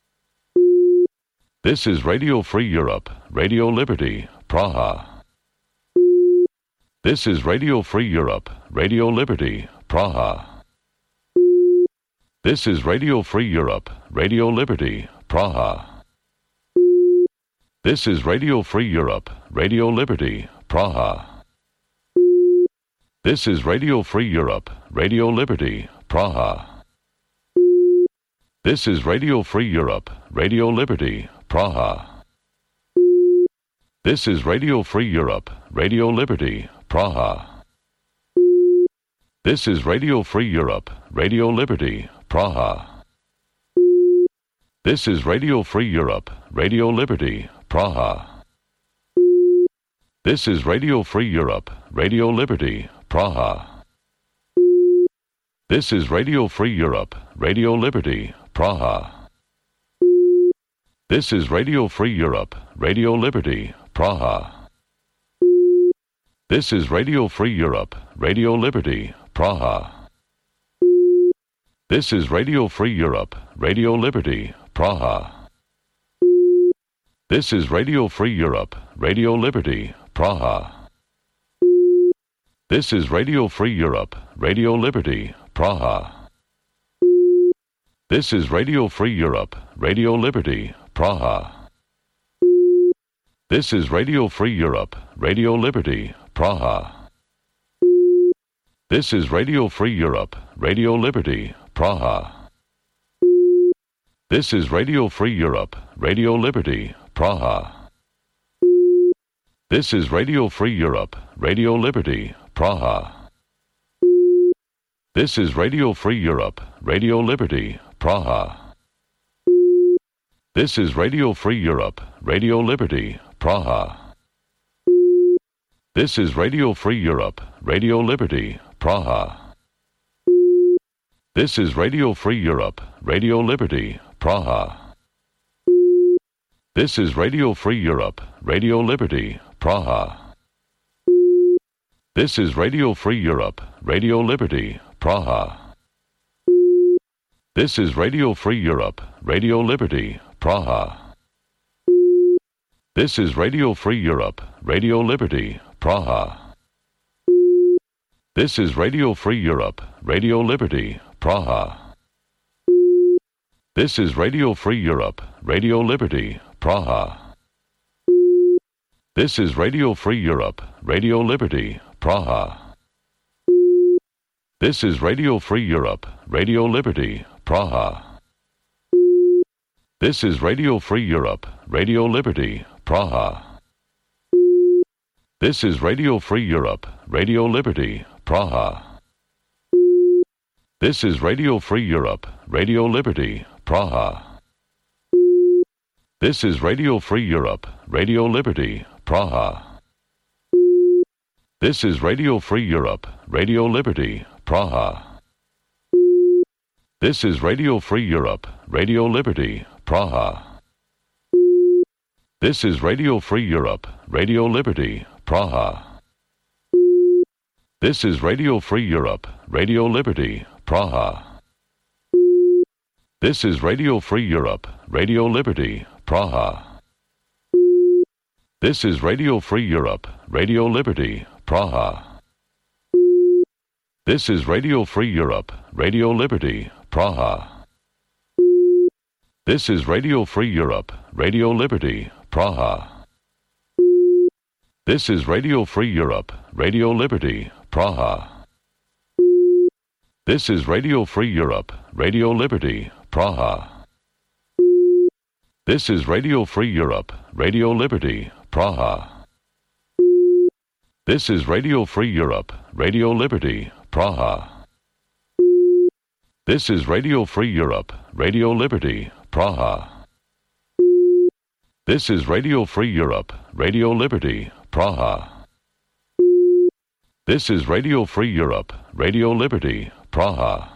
Speaker 1: This is Radio Free Europe, Radio Liberty, Praha. This is Radio Free Europe, Radio Liberty, Praha. This is Radio Free Europe, Radio Liberty, Praha. This is Radio Free Europe, Radio Liberty, Praha. This is Radio Free Europe, Radio Liberty, Praha. This is Radio Free Europe, Radio Liberty, Praha. This is Radio Free Europe, Radio Liberty, Praha. This is Radio Free Europe, Radio Liberty, Praha. This is Radio Free Europe, Radio Liberty, Praha. This is Radio Free Europe, Radio Liberty, Praha. This is Radio Free Europe, Radio Liberty, Praha. This is Radio Free Europe, Radio Liberty, Praha. This is Radio Free Europe, Radio Liberty, Praha. This is Radio Free Europe, Radio Liberty, Praha. This is Radio Free Europe, Radio Liberty, Praha. This is Radio Free Europe, Radio Liberty, Praha. This is Radio Free Europe, Radio Liberty, Praha. This is Radio Free Europe, Radio Liberty, Praha. This is Radio Free Europe, Radio Liberty, Praha. This is Radio Free Europe, Radio Liberty, Praha. This is Radio Free Europe, Radio Liberty, Praha. This is Radio Free Europe, Radio Liberty, Praha. This is Radio Free Europe, Radio Liberty, Praha. This is Radio Free Europe, Radio Liberty, Praha. This is Radio Free Europe, Radio Liberty, Praha. This is Radio Free Europe, Radio Liberty, Praha. This is Radio Free Europe, Radio Liberty, Praha. This is Radio Free Europe, Radio Liberty, Praha. This is Radio Free Europe, Radio Liberty, Praha. This is Radio Free Europe, Radio Liberty, Praha. This is Radio Free Europe, Radio Liberty, Praha. This is Radio Free Europe, Radio Liberty, Praha. This is Radio Free Europe, Radio Liberty, Praha. This is Radio Free Europe, Radio Liberty, Praha. This is Radio Free Europe, Radio Liberty, Praha. This is Radio Free Europe, Radio Liberty, Praha. This is Radio Free Europe, Radio Liberty, Praha. This is Radio Free Europe, Radio Liberty, Praha. This is Radio Free Europe, Radio Liberty, Praha. This is Radio Free Europe, Radio Liberty, Praha. This is Radio Free Europe, Radio Liberty, Praha. This is Radio Free Europe, Radio Liberty, Praha. This is Radio Free Europe, Radio Liberty, Praha. This is Radio Free Europe, Radio Liberty, Praha. This is Radio Free Europe, Radio Liberty, Praha. This is Radio Free Europe, Radio Liberty, Praha. This is Radio Free Europe, Radio Liberty, Praha. This is Radio Free Europe, Radio Liberty, Praha. This is Radio Free Europe, Radio Liberty, Praha. This is Radio Free Europe, Radio Liberty, Praha. This is Radio Free Europe, Radio Liberty, Praha. This is Radio Free Europe, Radio Liberty, Praha.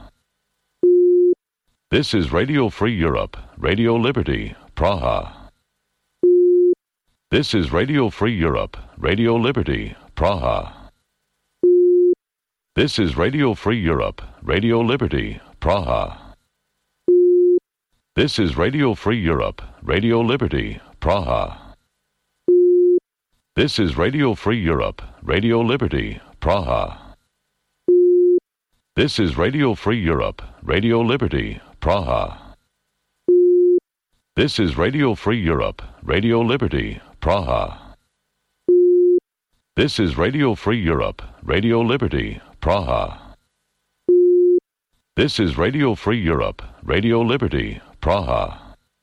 Speaker 1: This is Radio Free Europe, Radio Liberty, Praha. This is Radio Free Europe, Radio Liberty, Praha. This is Radio Free Europe, Radio Liberty, Praha. This is Radio Free Europe, Radio Liberty, Praha. This is Radio Free Europe, Radio Liberty, Praha. This is Radio Free Europe, Radio Liberty, Praha. This is Radio Free Europe, Radio Liberty, Praha. This is Radio Free Europe, Radio Liberty, Praha. This is Radio Free Europe, Radio Liberty, Praha.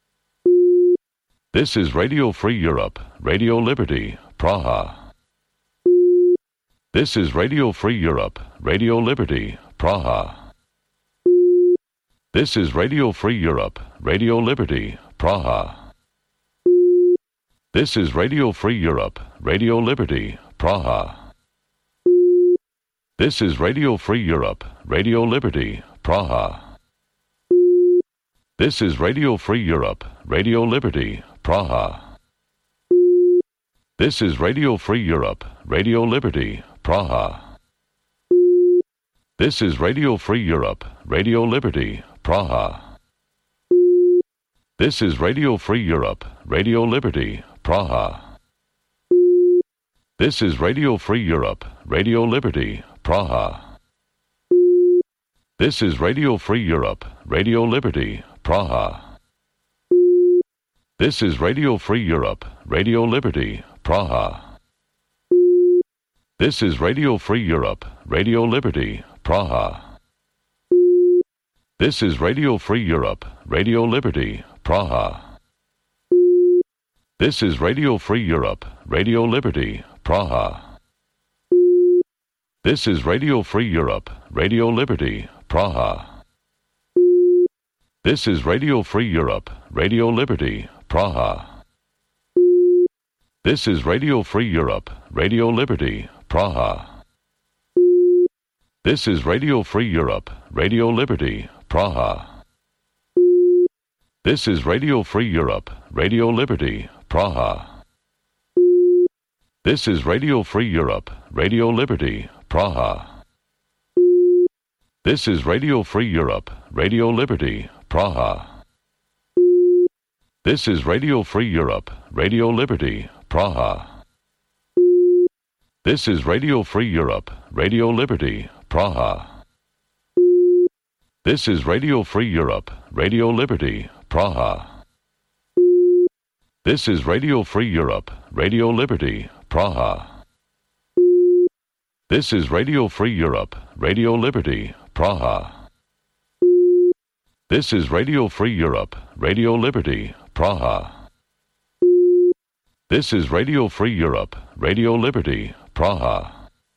Speaker 1: This is Radio Free Europe, Radio Liberty, Praha. This is Radio Free Europe, Radio Liberty, Praha. This is Radio Free Europe, Radio Liberty, Praha. This is Radio Free Europe, Radio Liberty, Praha. This is Radio Free Europe, Radio Liberty, Praha. This is Radio Free Europe, Radio Liberty, Praha. This is Radio Free Europe, Radio Liberty, Praha. This is Radio Free Europe, Radio Liberty, Praha. This is Radio Free Europe, Radio Liberty, Praha. This is Radio Free Europe, Radio Liberty, Praha. This is Radio Free Europe, Radio Liberty, Praha. This is Radio Free Europe, Radio Liberty, Praha. This is Radio Free Europe, Radio Liberty, Praha. This is Radio Free Europe, Radio Liberty, Praha. This is Radio Free Europe, Radio Liberty, Praha. This is Radio Free Europe, Radio Liberty, Praha. This is Radio Free Europe, Radio Liberty, Praha. This is Radio Free Europe, Radio Liberty, Praha. This is Radio Free Europe, Radio Liberty, Praha. This is Radio Free Europe, Radio Liberty, Praha. This is Radio Free Europe, Radio Liberty, Praha. This is Radio Free Europe, Radio Liberty, Praha. This is Radio Free Europe, Radio Liberty, Praha. This is Radio Free Europe, Radio Liberty, Praha. This is Radio Free Europe, Radio Liberty, Praha. This is Radio Free Europe, Radio Liberty, Praha. This is Radio Free Europe, Radio Liberty, Praha. This is Radio Free Europe, Radio Liberty, Praha. This is Radio Free Europe, Radio Liberty, Praha.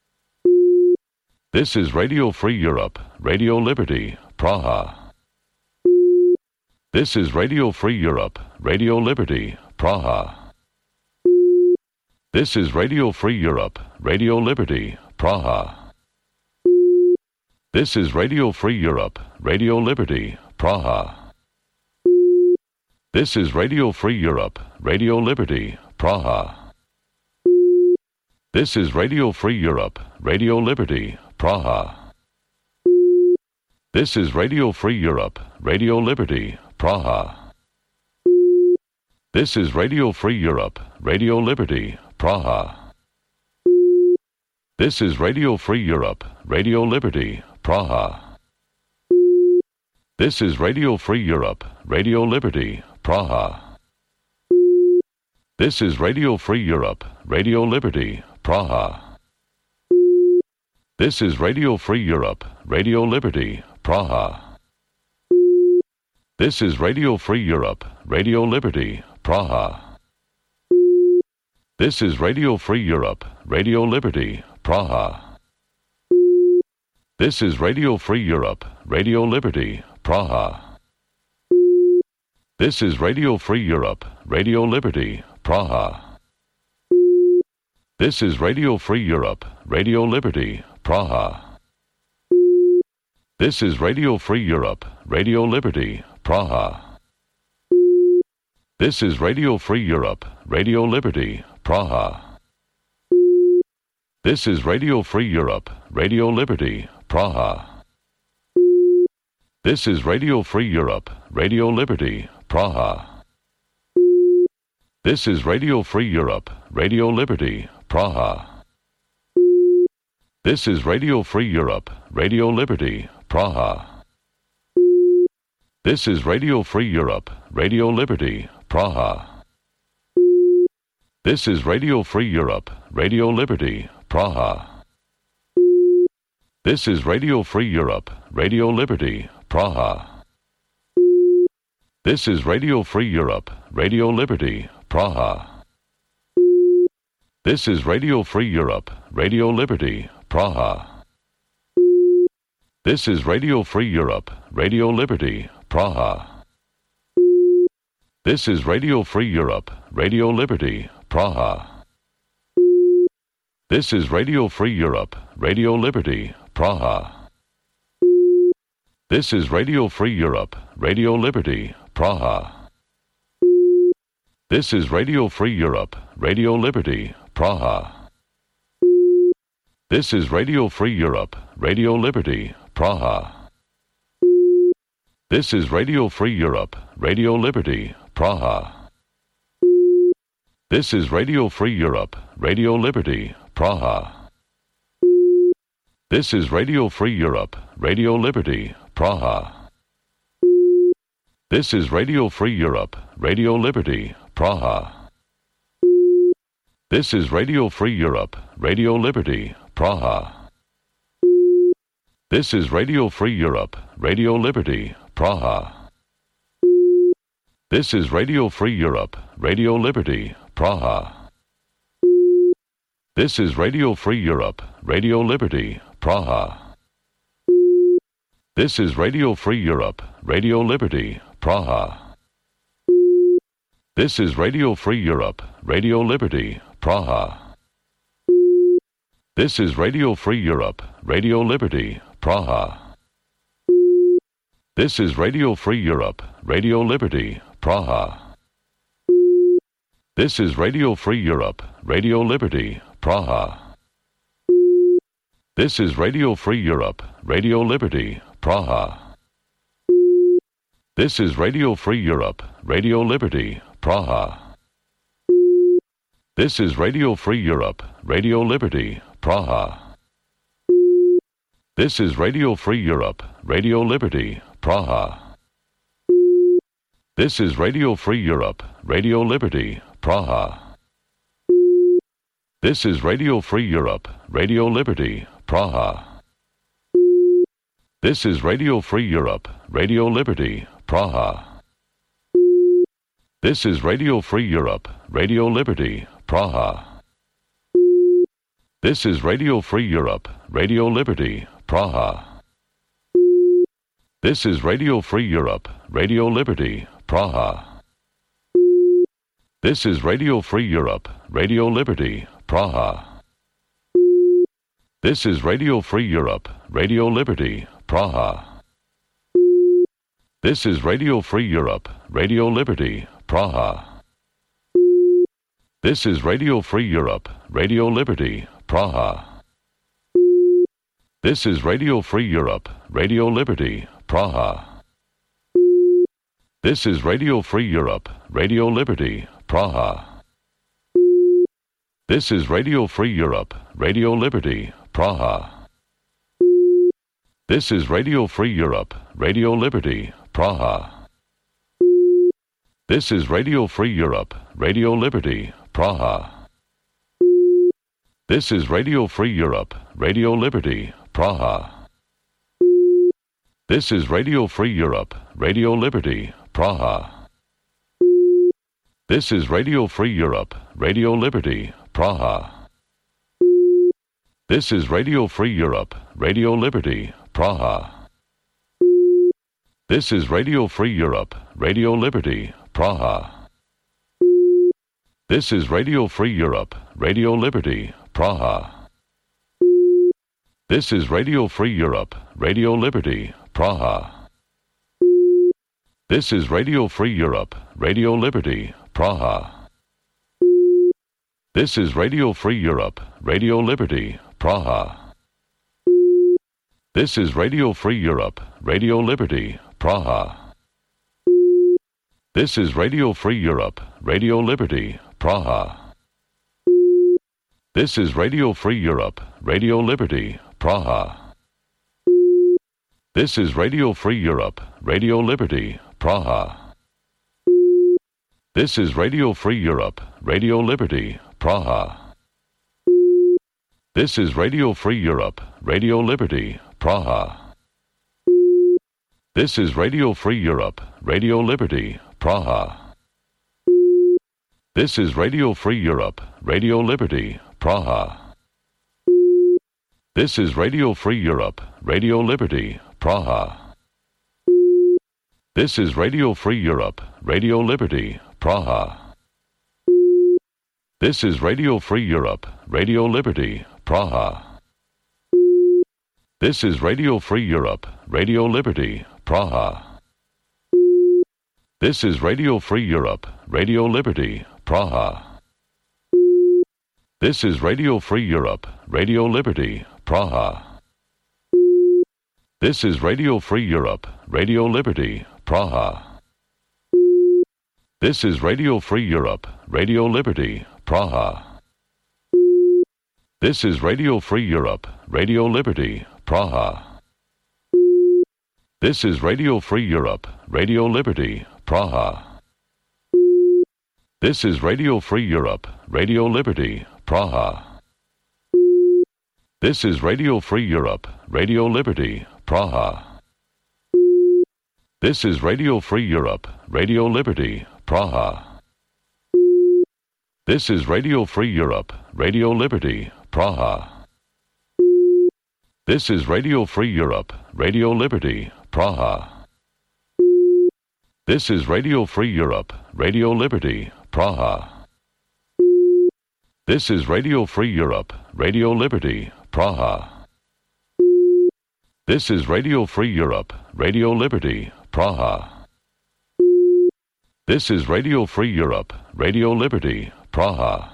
Speaker 1: This is Radio Free Europe, Radio Liberty, Praha. This is Radio Free Europe, Radio Liberty, Praha. This is Radio Free Europe, Radio Liberty, Praha. This is Radio Free Europe, Radio Liberty, Praha. This is Radio Free Europe, Radio Liberty, Praha. This is Radio Free Europe, Radio Liberty, Praha. This is Radio Free Europe, Radio Liberty, Praha. This is Radio Free Europe, Radio Liberty, Praha. This is Radio Free Europe, Radio Liberty, Praha. This is Radio Free Europe, Radio Liberty, Praha. This is Radio Free Europe, Radio Liberty, Praha. This is Radio Free Europe, Radio Liberty, Praha. This is Radio Free Europe, Radio Liberty, Praha. This is Radio Free Europe, Radio Liberty, Praha. This is Radio Free Europe, Radio Liberty, Praha. This is Radio Free Europe, Radio Liberty, Praha. This is Radio Free Europe, Radio Liberty, Praha. This is Radio Free Europe, Radio Liberty, Praha. This is Radio Free Europe, Radio Liberty, Praha. This is Radio Free Europe, Radio Liberty, Praha. This is Radio Free Europe, Radio Liberty, Praha. This is Radio Free Europe, Radio Liberty, Praha. This is Radio Free Europe, Radio Liberty, Praha. This is Radio Free Europe, Radio Liberty, Praha. This is Radio Free Europe, Radio Liberty, Praha. This is Radio Free Europe, Radio Liberty, Praha. This is Radio Free Europe, Radio Liberty, Praha. This is Radio Free Europe, Radio Liberty, Praha. This is Radio Free Europe, Radio Liberty, Praha. This is Radio Free Europe, Radio Liberty, Praha. This is Radio Free Europe, Radio Liberty, Praha. This is Radio Free Europe, Radio Liberty, Praha. This is Radio Free Europe, Radio Liberty, Praha. This is Radio Free Europe, Radio Liberty, Praha. This is Radio Free Europe, Radio Liberty, Praha. This is Radio Free Europe, Radio Liberty, Praha. This is Radio Free Europe, Radio Liberty, Praha. This is Radio Free Europe, Radio Liberty, Praha. This is Radio Free Europe, Radio Liberty, Praha. This is Radio Free Europe, Radio Liberty, Praha. This is Radio Free Europe, Radio Liberty, Praha. This is Radio Free Europe, Radio Liberty, Praha. This is Radio Free Europe, Radio Liberty, Praha. This is Radio Free Europe, Radio Liberty, Praha. This is Radio Free Europe, Radio Liberty, Praha. This is Radio Free Europe, Radio Liberty, Praha. This is Radio Free Europe, Radio Liberty, Praha. This is Radio Free Europe, Radio Liberty, Praha. This is Radio Free Europe, Radio Liberty, Praha. This is Radio Free Europe, Radio Liberty, Praha. This is Radio Free Europe, Radio Liberty, Praha. This is Radio Free Europe, Radio Liberty, Praha. This is Radio Free Europe, Radio Liberty, Praha. This is Radio Free Europe, Radio Liberty, Praha. This is Radio Free Europe, Radio Liberty, Praha. This is Radio Free Europe, Radio Liberty, Praha. This is Radio Free Europe, Radio Liberty, Praha. This is Radio Free Europe, Radio Liberty, Praha. This is Radio Free Europe, Radio Liberty, Praha. This is Radio Free Europe, Radio Liberty, Praha. This is Radio Free Europe, Radio Liberty, Praha. This is Radio Free Europe, Radio Liberty, Praha. This is Radio Free Europe, Radio Liberty, Praha. This is Radio Free Europe, Radio Liberty, Praha. This is Radio Free Europe, Radio Liberty, Praha. This is Radio Free Europe, Radio Liberty, Praha. This is Radio Free Europe, Radio Liberty, Praha. This is Radio Free Europe, Radio Liberty, Praha. This is Radio Free Europe, Radio Liberty, Praha. This is Radio Free Europe, Radio Liberty, Praha. This is Radio Free Europe, Radio Liberty, Praha. This is Radio Free Europe, Radio Liberty, Praha. This is Radio Free Europe, Radio Liberty, Praha. This is Radio Free Europe, Radio Liberty, Praha. This is Radio Free Europe, Radio Liberty, Praha. This is Radio Free Europe, Radio Liberty, Praha. This is Radio Free Europe, Radio Liberty, Praha. This is Radio Free Europe, Radio Liberty, Praha. This is Radio Free Europe, Radio Liberty, Praha. This is Radio Free Europe, Radio Liberty, Praha. This is Radio Free Europe, Radio Liberty, Praha. This is Radio Free Europe, Radio Liberty, Praha. This is Radio Free Europe, Radio Liberty, Praha. This is Radio Free Europe, Radio Liberty, Praha. This is Radio Free Europe, Radio Liberty, Praha. This is Radio Free Europe, Radio Liberty, Praha. This is Radio Free Europe, Radio Liberty, Praha. This is Radio Free Europe, Radio Liberty, Praha. This is Radio Free Europe, Radio Liberty, Praha. This is Radio Free Europe, Radio Liberty, Praha. This is Radio Free Europe, Radio Liberty, Praha. This is Radio Free Europe, Radio Liberty, Praha. This is Radio Free Europe, Radio Liberty, Praha. This is Radio Free Europe, Radio Liberty, Praha. This is Radio Free Europe, Radio Liberty, Praha. This is Radio Free Europe, Radio Liberty, Praha. This is Radio Free Europe, Radio Liberty, Praha. This is Radio Free Europe, Radio Liberty, Praha. This is Radio Free Europe, Radio Liberty, Praha. This is Radio Free Europe, Radio Liberty, Praha. This is Radio Free Europe, Radio Liberty, Praha. This is Radio Free Europe, Radio Liberty, Praha.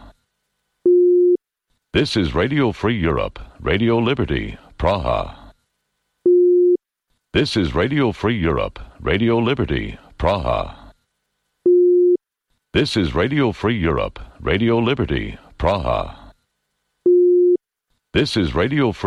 Speaker 1: This is Radio Free Europe, Radio Liberty, Praha. This is Radio Free Europe, Radio Liberty, Praha. This is Radio Free Europe, Radio Liberty, Praha. This is Radio Free